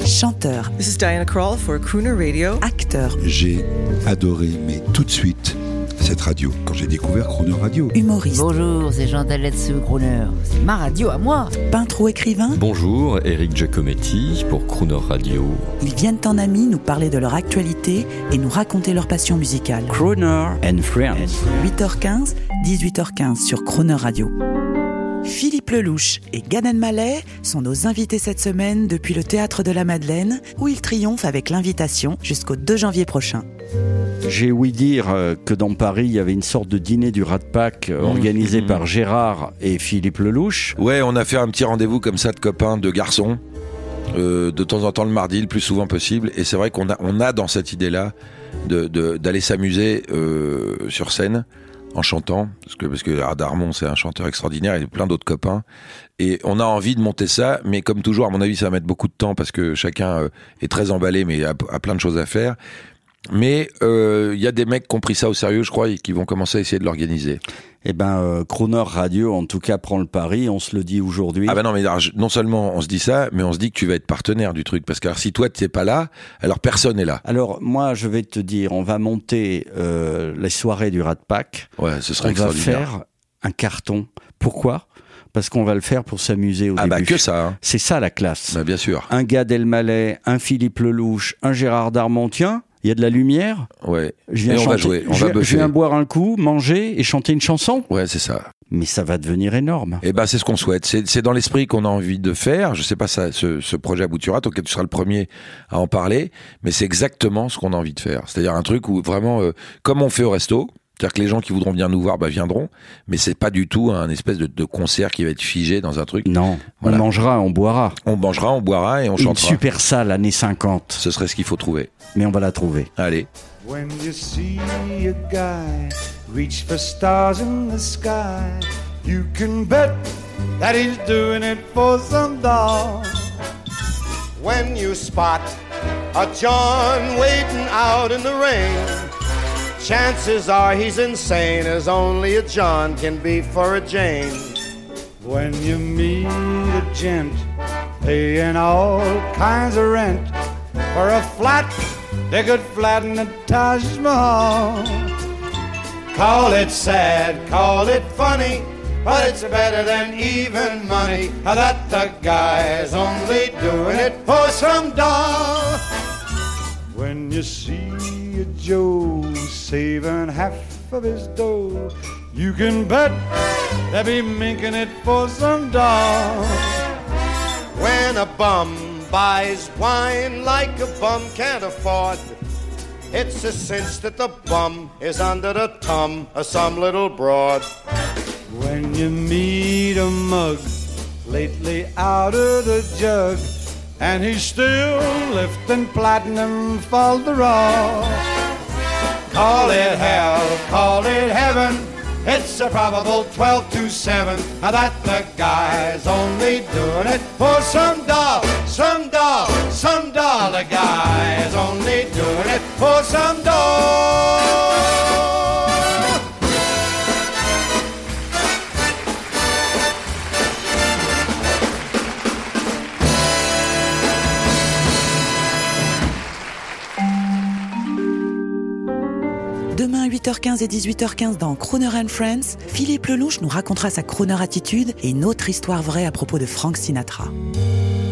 Chanteur. This is Diana Krall for Crooner Radio. Acteur. J'ai adoré, mais tout de suite, cette radio, quand j'ai découvert Crooner Radio. Humoriste. Bonjour, c'est Jean Daletsu, Crooner. C'est ma radio à moi. Peintre ou écrivain. Bonjour, Eric Giacometti pour Crooner Radio. Ils viennent en amis nous parler de leur actualité et nous raconter leur passion musicale. Crooner and Friends. 8h15, 18h15 sur Crooner Radio. Philippe Lelouch et Gad Elmaleh sont nos invités cette semaine depuis le Théâtre de la Madeleine, où ils triomphent avec l'invitation jusqu'au 2 janvier prochain. J'ai ouï dire que dans Paris, il y avait une sorte de dîner du Rat Pack organisé par Gérard et Philippe Lelouch. Ouais, on a fait un petit rendez-vous comme ça de copains, de garçons, de temps en temps le mardi, le plus souvent possible. Et c'est vrai qu'on a dans cette idée-là d'aller s'amuser sur scène en chantant, parce que Darmon c'est un chanteur extraordinaire, il y a plein d'autres copains, et on a envie de monter ça, mais comme toujours, à mon avis, ça va mettre beaucoup de temps, parce que chacun est très emballé, mais a plein de choses à faire. Mais il y a des mecs qui ont pris ça au sérieux, je crois, et qui vont commencer à essayer de l'organiser. Eh ben, Crooner Radio, en tout cas, prend le pari, on se le dit aujourd'hui. Ah ben non, mais non seulement on se dit ça, mais on se dit que tu vas être partenaire du truc, parce que alors, si toi tu n'es pas là, alors personne n'est là. Alors moi, je vais te dire, on va monter les soirées du Rat Pack. Ouais, ce serait on extraordinaire. On va faire un carton. Pourquoi ? Parce qu'on va le faire pour s'amuser au début. Ah bah que ça. Hein. C'est ça la classe. Bah bien sûr. Un Gad Elmaleh, un Philippe Lelouch, un Gérard Darmon. Tiens, il y a de la lumière. Ouais. On va jouer, on va buffer. Je viens boire un coup, manger et chanter une chanson. Ouais, c'est ça. Mais ça va devenir énorme. Eh ben, c'est ce qu'on souhaite. C'est dans l'esprit qu'on a envie de faire. Je sais pas ce projet aboutira. Donc, tu seras le premier à en parler. Mais c'est exactement ce qu'on a envie de faire. C'est-à-dire un truc où vraiment, comme on fait au resto. C'est-à-dire que les gens qui voudront venir nous voir, viendront. Mais c'est pas du tout un espèce de concert qui va être figé dans un truc. Non. Voilà. On mangera, on boira. On mangera, on boira et on chantera. Une super salle années 50. Ce serait ce qu'il faut trouver. Mais on va la trouver. Allez. When you see a guy reach for stars in the sky, you can bet that he's doing it for some doll. When you spot a John waiting out in the rain, chances are he's insane, as only a John can be for a Jane. When you meet a gent paying all kinds of rent for a flat they could flatten the Taj Mahal. Call it sad, call it funny, but it's better than even money, that the guy's only doing it for some doll. When you see a Joe saving half of his dough, you can bet they'll be minking it for some doll. When a bum buys wine like a bum can't afford, it's a cinch that the bum is under the thumb of some little broad. When you meet a mug lately out of the jug, and he's still lifting platinum for the raw, call it hell, call it heaven, it's a probable 12 to 7 that the guy's only doing it for some doll, some doll, some doll. The guy's only doing it for some doll. Demain, 8h15 et 18h15 dans Crooner and Friends, Philippe Lelouch nous racontera sa crooner attitude et une autre histoire vraie à propos de Frank Sinatra.